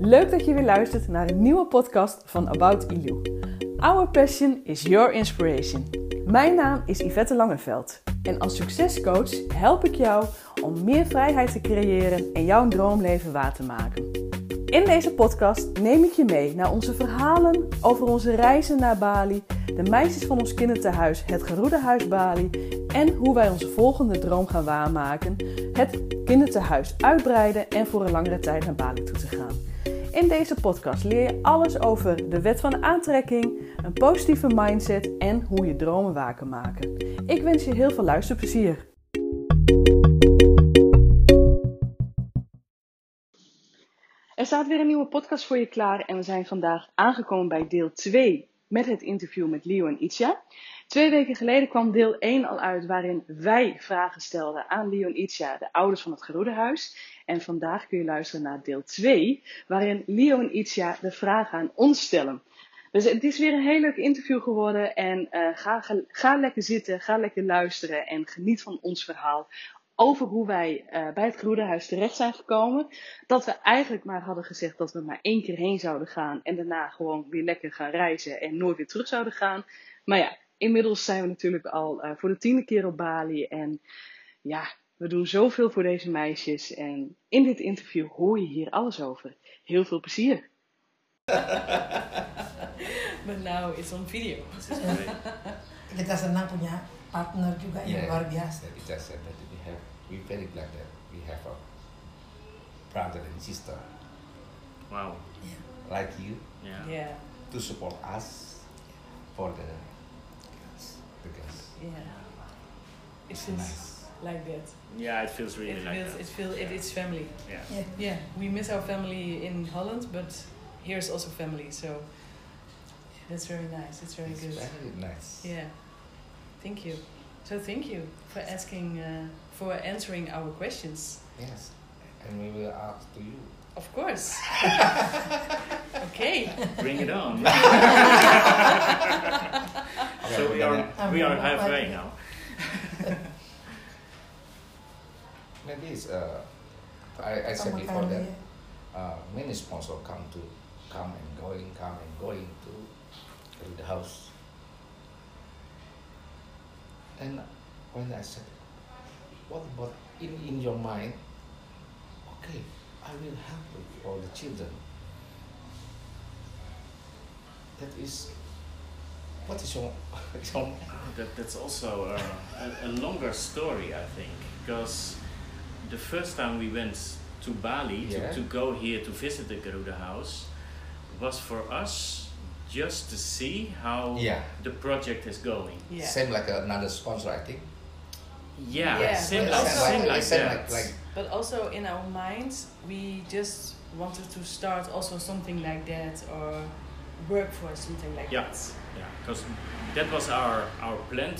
Leuk dat je weer luistert naar een nieuwe podcast van About Ilu. Our passion is your inspiration. Mijn naam is Yvette Langeveld en als succescoach help ik jou om meer vrijheid te creëren en jouw droomleven waar te maken. In deze podcast neem ik je mee naar onze verhalen over onze reizen naar Bali, de meisjes van ons kindertehuis Het Geroedehuis Bali en hoe wij onze volgende droom gaan waarmaken, het kindertehuis uitbreiden en voor een langere tijd naar Bali toe te gaan. In deze podcast leer je alles over de wet van de aantrekking, een positieve mindset en hoe je dromen waar kan maken. Ik wens je heel veel luisterplezier. Er staat weer een nieuwe podcast voor je klaar en we zijn vandaag aangekomen bij deel 2 met het interview met Leo en Itzia. 2 weken geleden kwam deel 1 al uit waarin wij vragen stelden aan Leo en Itzia, de ouders van het Geroedehuis. En vandaag kun je luisteren naar deel 2 waarin Leo en Itzia de vragen aan ons stellen. Dus het is weer een heel leuk interview geworden en ga lekker zitten, ga lekker luisteren en geniet van ons verhaal. Over hoe wij bij het Geroedehuis terecht zijn gekomen. Dat we eigenlijk maar hadden gezegd dat we maar 1 keer heen zouden gaan. En daarna gewoon weer lekker gaan reizen en nooit weer terug zouden gaan. Maar ja, inmiddels zijn we natuurlijk al voor de 10e keer op Bali. En ja, we doen zoveel voor deze meisjes. En in dit interview hoor je hier alles over. Heel veel plezier. But now it's on video. Kita senang punya partner juga yang luar biasa. Kita said that we're very glad that we have a brother and sister. Wow. Yeah. Like you. Yeah. To support us for the girls. Yeah. It It's feels nice. like that. Yeah, it feels really like that. It's family. Yeah. Yeah. We miss our family in Holland, but here's also family. So that's very nice. It's very good. Very nice. Yeah. Thank you. So thank you for asking, for answering our questions. Yes. And we will ask to you. Of course. Okay. Bring it on. Okay, So we are halfway now. Maybe it's I said before that many sponsors come and going to the house. And when I said, what about in your mind? Okay, I will help all the children. That is, what is your That's also a longer story, I think, because the first time we went to Bali to go here to visit the Geroedehuis was for us just to see how the project is going. Yeah. Same like another sponsor, I think. Yeah, same like that. But also in our minds, we just wanted to start also something like that or work for something like that. Yeah, because that was our plan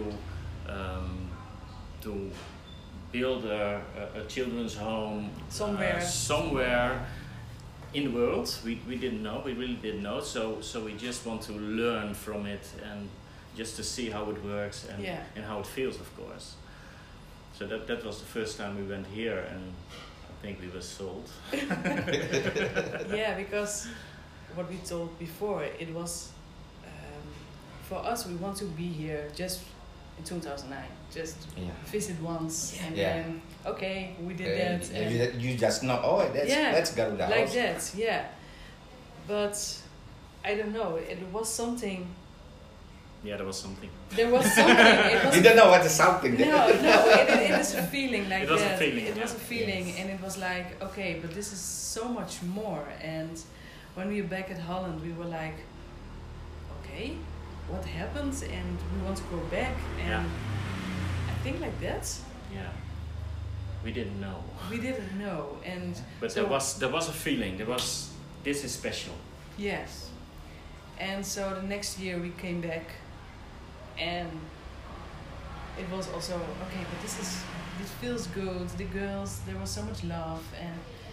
to build a children's home somewhere in the world. We didn't know, we really didn't know. So we just want to learn from it and just to see how it works and how it feels, of course. So that was the first time we went here, and I think we were sold. Yeah, because what we told before, it was for us, we want to be here just in 2009, just visit once and then okay, we did that. And you just know, that's Geroedehuis. Like that, yeah. But I don't know, it was something. Yeah, there was something. There was something. It was You don't know what is something. No, it was a feeling like it was that. A feeling, it was a feeling, Yes. and it was like, okay, but this is so much more. And when we were back at Holland, we were like, okay, what happened? And we want to go back. And I think like that. Yeah. We didn't know. We didn't know, and But so, there was a feeling. This is special. yes. And so the next year we came back, and it was also okay. But this feels good. The girls, there was so much love, and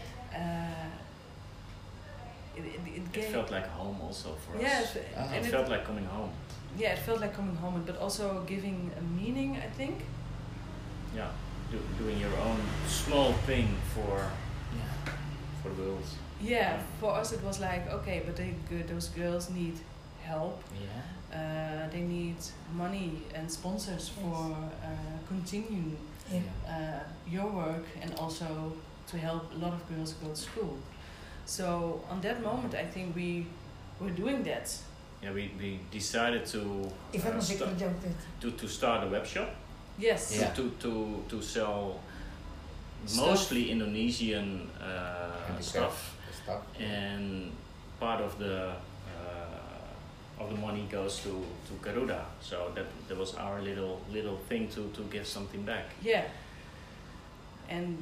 It felt like home also for us. Yes, It felt like coming home. Yeah, it felt like coming home, but also giving a meaning, I think. Yeah, doing your own small thing for for the world. Yeah, for us it was like, okay, but those girls need help. Yeah. They need money and sponsors for continuing your work and also to help a lot of girls go to school. So on that moment, I think we were doing that. Yeah, we decided to to start a web shop. Yes. Yeah. To sell mostly Indonesian stuff, and part of the money goes to Garuda. So that was our little thing to give something back. Yeah. And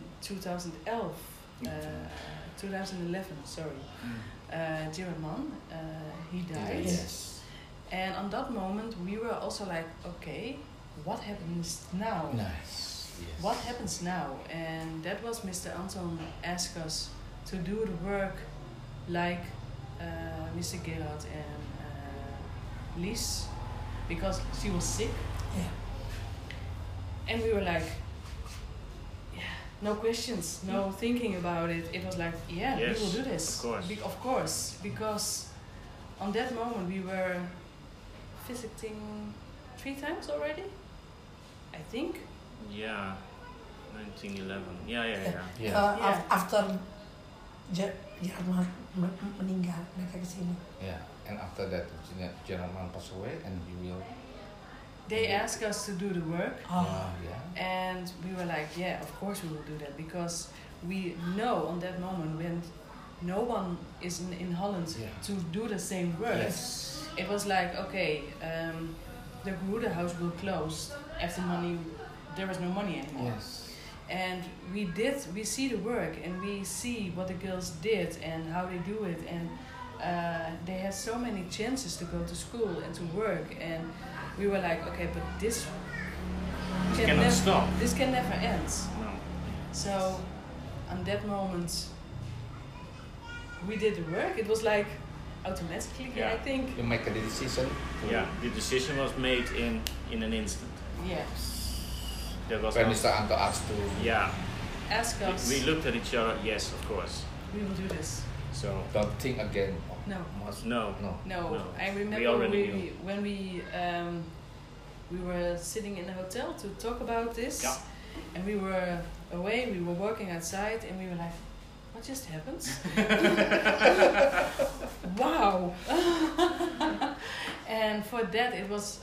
2011, sorry. Gerard Mann, he died. Yes. And on that moment we were also like, okay, what happens now? Nice. Yes. What happens now? And that was Mr. Anton asked us to do the work like Mr. Gerard and Lies, because she was sick. Yeah. And we were like, no questions, no thinking about it. It was like, yes, we will do this. Of course. Of course, because on that moment we were visiting 3 times already, I think. Yeah, 1911. Yeah. After Jerman meninggal, mereka kesini. Yeah, and after that, Jerman passed away, and you will. They asked us to do the work. Yeah. And we were like, yeah, of course we will do that, because we know on that moment when no one is in Holland to do the same work. Yes. It was like, okay, the Garuda house will close after money. There was no money anymore. Yes. And we see the work and we see what the girls did and how they do it, and they had so many chances to go to school and to work, and we were like, okay, but this cannot stop. This can never end. No. So, on that moment, we did the work. It was like automatically, I think. You make a decision. The decision was made in an instant. Yeah. There was when Mr. Anto asked to. Yeah. Ask us. We looked at each other. Yes, of course. We will do this. So. Don't think again. No. No. I remember when we were sitting in a hotel to talk about this, and we were away. We were working outside, and we were like, "What just happened?" Wow! And for that, it was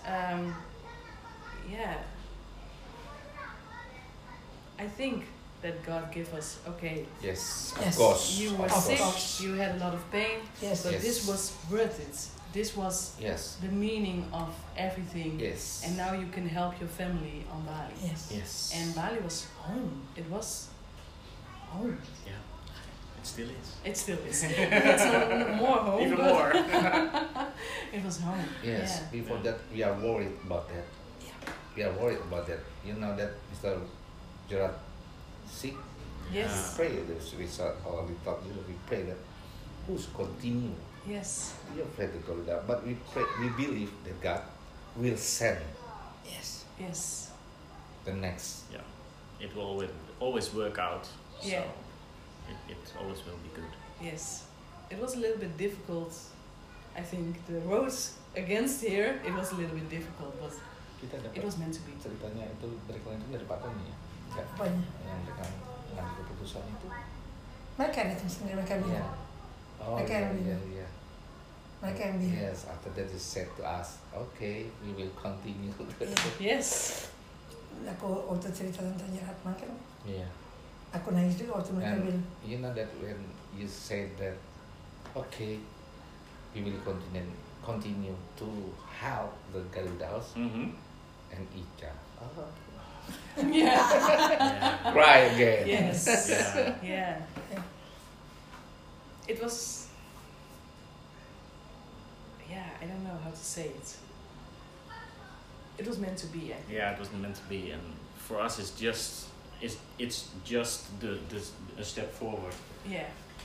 I think that God gave us, okay. Yes, of course. You were sick, you had a lot of pain, but this was worth it. This was the meaning of everything. Yes. And now you can help your family on Bali. Yes. And Bali was home. It was home. Yeah. It still is. It still is. It's more home. Even more. It was home. Yes. Yeah. Before that, we are worried about that. Yeah. We are worried about that. You know that Mr. Gerard sick. Yes. We pray this. We pray that who's continue. Yes. We are afraid to go to that, but we pray. We believe that God will send. Yes. Yes. The next. Yeah. It will always work out. Yeah. So it always will be good. Yes. It was a little bit difficult. I think the roads against here, it was a little bit difficult, but it was meant to be. Ceritanya itu beriklan itu dari Pak Tony ya. Apanya? Yang mereka mengambil keputusan itu. Mereka itu sendiri mereka bilang. Oh mereka yang bilang. iya. Mereka yang bilang. Yes, after that they said to us, okay, we will continue. Yes. Aku waktu cerita tentang Gerard Mann kan. Iya. Aku nangis juga waktu mereka bilang. You know that when you said that, okay, we will continue to help the Garuda House and Ica. Oh. Yeah. Cry again. Yes. Yeah. It was. Yeah, I don't know how to say it. It was meant to be. I think. Yeah, it was meant to be, and for us, it's just a step forward. Yeah.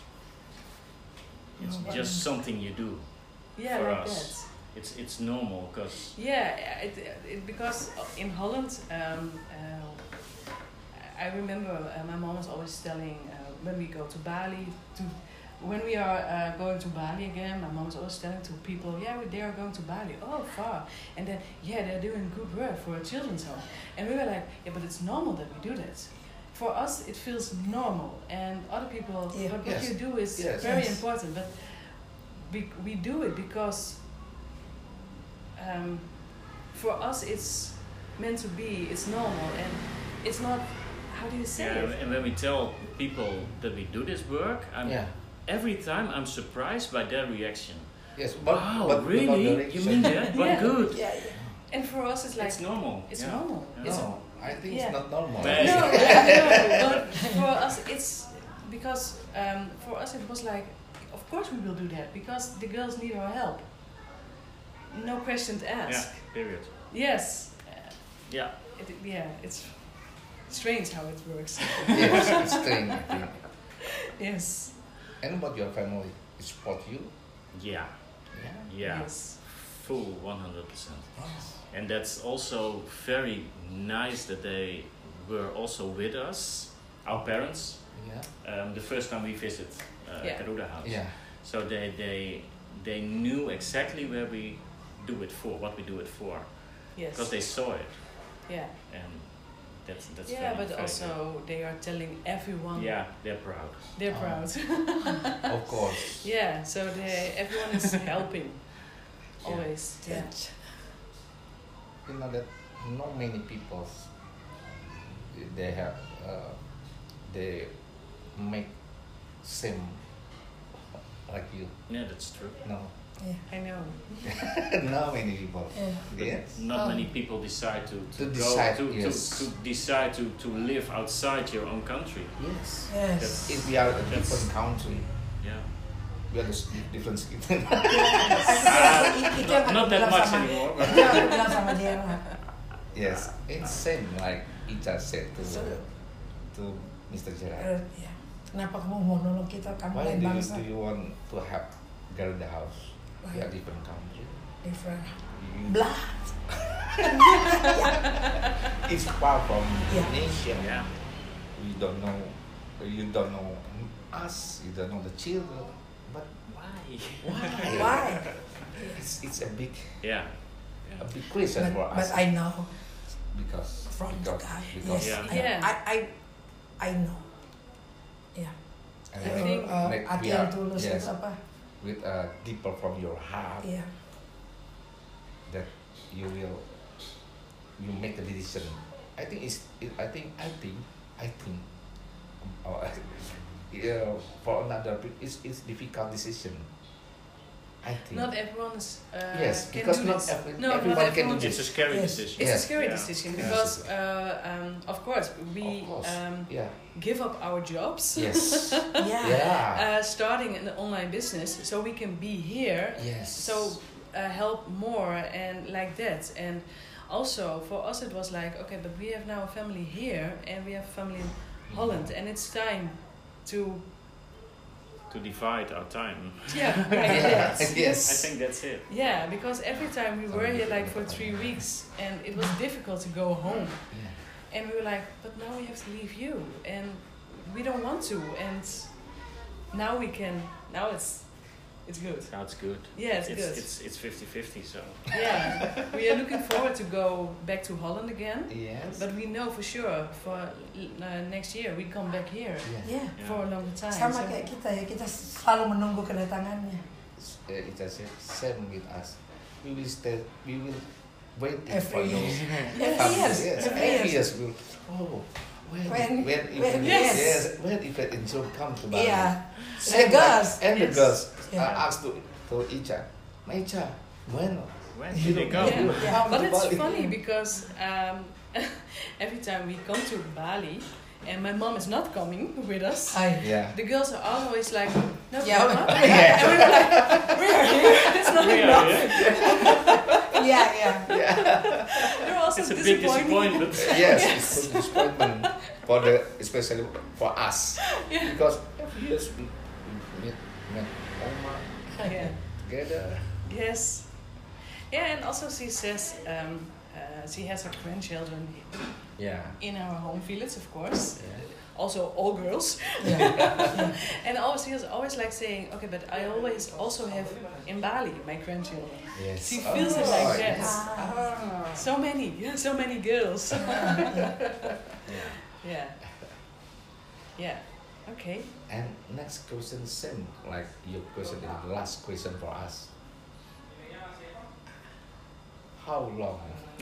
It's just something you do. Yeah, for like us. that. It's normal because because in Holland I remember my mom was always telling when we go to Bali, when we are going to Bali again, my mom was always telling to people, they are going to Bali, oh far, and then they're doing good work for a children's home, and we were like, but it's normal that we do that. For us, it feels normal, and other people, what you do is very important, but we do it because for us it's meant to be, it's normal, and it's not, how do you say it? And when we tell people that we do this work, every time I'm surprised by their reaction. Yes, but really? You mean that? But good. Yeah. And for us it's like... It's normal. It's normal. No, I think it's not normal. No, but for us it's... Because for us it was like, of course we will do that, because the girls need our help. No questions asked. Yeah, period. Yes. It's strange how it works. Yes, it's strange, I think. Yes. And about your family, it support you? Yeah. Yes. Full 100%. And that's also very nice that they were also with us, our parents. The first time we visit Garuda House. Yeah. So they knew exactly where we do it for, what we do it for. Yes. Because they saw it. Yeah. And that's but very also good. they are telling everyone. Yeah, they're proud. They're proud. Of course. Yeah, so everyone is helping. Always. Yeah. You know that not many people they have they make same like you. Yeah, that's true. No. Yeah, I know. Not many people. Yes. Not many people decide to decide to live outside your own country. Yes. Yes. If we are a different country, we are different skin. Not that much anymore. Yes, it's same like Ica said to Mr. Gerard. Kenapa kamu mau nolong kita? Kamu lain bangsa. Do you want to have Garuda House? We are different country. Different blood. It's far from Indonesia. Yeah. You don't know us. You don't know the children. But Why? It's a big a big question for us. But I know because from the guy. because I know. Yeah. and I think hati yang tulus itu apa? With deeper from your heart. Yeah. That you make the decision. I think for another it's difficult decision. I think not everyone is because not everyone can do this. It's a scary decision. It's a scary decision because of course we give up our jobs. Yes. Starting an online business so we can be here. Yes. So help more and like that. And also for us it was like, okay, but we have now a family here and we have a family in Holland, and it's time to divide our time. Yeah, like that. Yes. I think that's it. Yeah, because every time we were here like for 3 weeks and it was difficult to go home. Yeah. And we were like, but now we have to leave you and we don't want to, and now we can, now it's good. Now it's good. Yeah, it's good. It's 50-50, so. Yeah, we are looking forward to go back to Holland again. Yes. But we know for sure for next year we come back here for a longer time. Sama kayak kita ya, kita selalu menunggu kedatangannya. It's the same with us. We will wait for Every you. Every year. When event in Zoom come to Bali. Yeah. The girls Yeah. asked to Ica, Ica, when do they go? But it's funny because every time we come to Bali and my mom is not coming with us, the girls are always like, no, Mama. And we were like, we are here. It's not enough. They're also it's a big disappointment. Yes, it's a disappointment especially for us because every year we met Oma together. Yes. Yeah, and also she says she has her grandchildren in our home village, of course. Yeah. Also all girls. Yeah. And she was always like saying, okay, but I always also have in Bali my grandchildren. Yes. She feels it like that. Ah. So many girls. Yeah. Okay. And next question, same like your question, the last question for us. How long?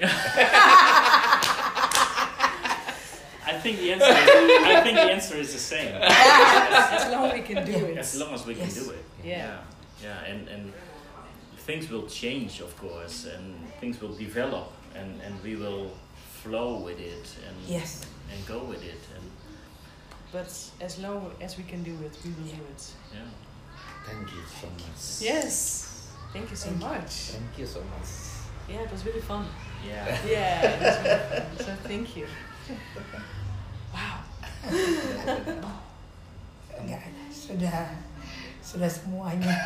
I think the answer is the same. As long as we can do it. As long as we can do it. Yeah. And things will change, of course, and things will develop, and we will flow with it and go with it. But as long as we can do it, we will do it. Yeah. Thank you so much. Yes. Thank you so much. Thank you so much. Yeah, it was really fun. Yeah. Yeah, it was really fun. So thank you. Wow. Enggak, sudah semuanya.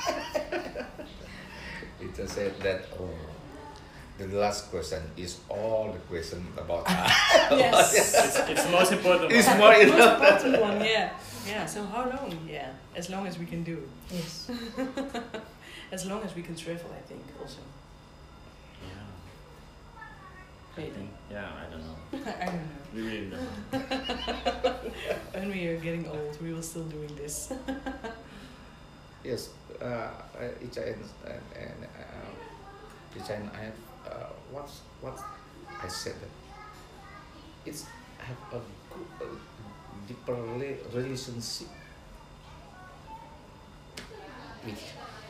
It just said that the last question is all the question about us. Yes. It's the most important It's one. more Most important one, yeah. Yeah, so how long? Yeah, as long as we can do it. Yes. As long as we can travel, I think, also. Yeah. Maybe. I don't know. I don't know. We really don't know. When we are getting old, we will still doing this. Yes, Icha and I have what I said that it's have a good, deeper relationship with.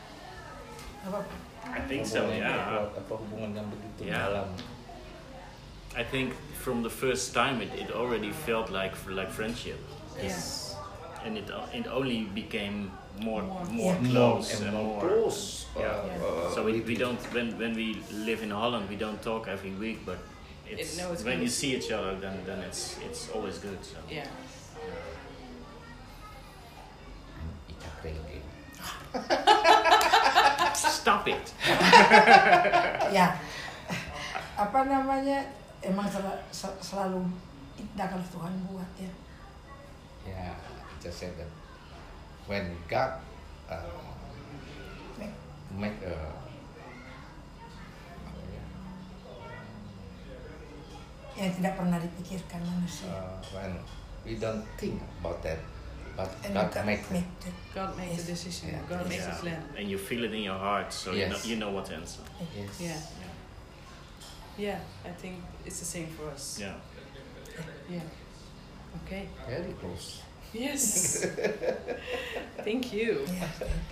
I think so. Yeah. Apa hubungan yang begitu Yeah. dalam. I think from the first time it already felt like friendship. Yes. And it only became more More close and and more more. close. So we don't when we live in Holland, we don't talk every week, but it's when good. you see each other, then it's always good. So. Yeah. Icha playing game. Stop it. Ya, apa namanya, emang selalu tindakan Tuhan buat ya. Yeah, just said that when God make Yang tidak pernah dipikirkan manusia. when we don't think about that, but And God God make make that. God makes Yes. the decision. Yeah. God makes the plan. And you feel it in your heart, so Yes. you know what to answer. Yes. Yeah. Yeah, I think it's the same for us. Yeah. Yeah. Okay. Very close. Yes. Thank you. Ya,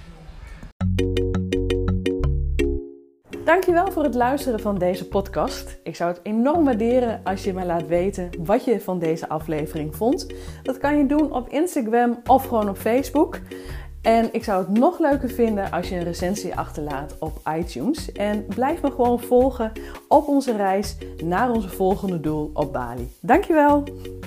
Dankjewel voor het luisteren van deze podcast. Ik zou het enorm waarderen als je me laat weten wat je van deze aflevering vond. Dat kan je doen op Instagram of gewoon op Facebook. En ik zou het nog leuker vinden als je een recensie achterlaat op iTunes. En blijf me gewoon volgen op onze reis naar onze volgende doel op Bali. Dankjewel!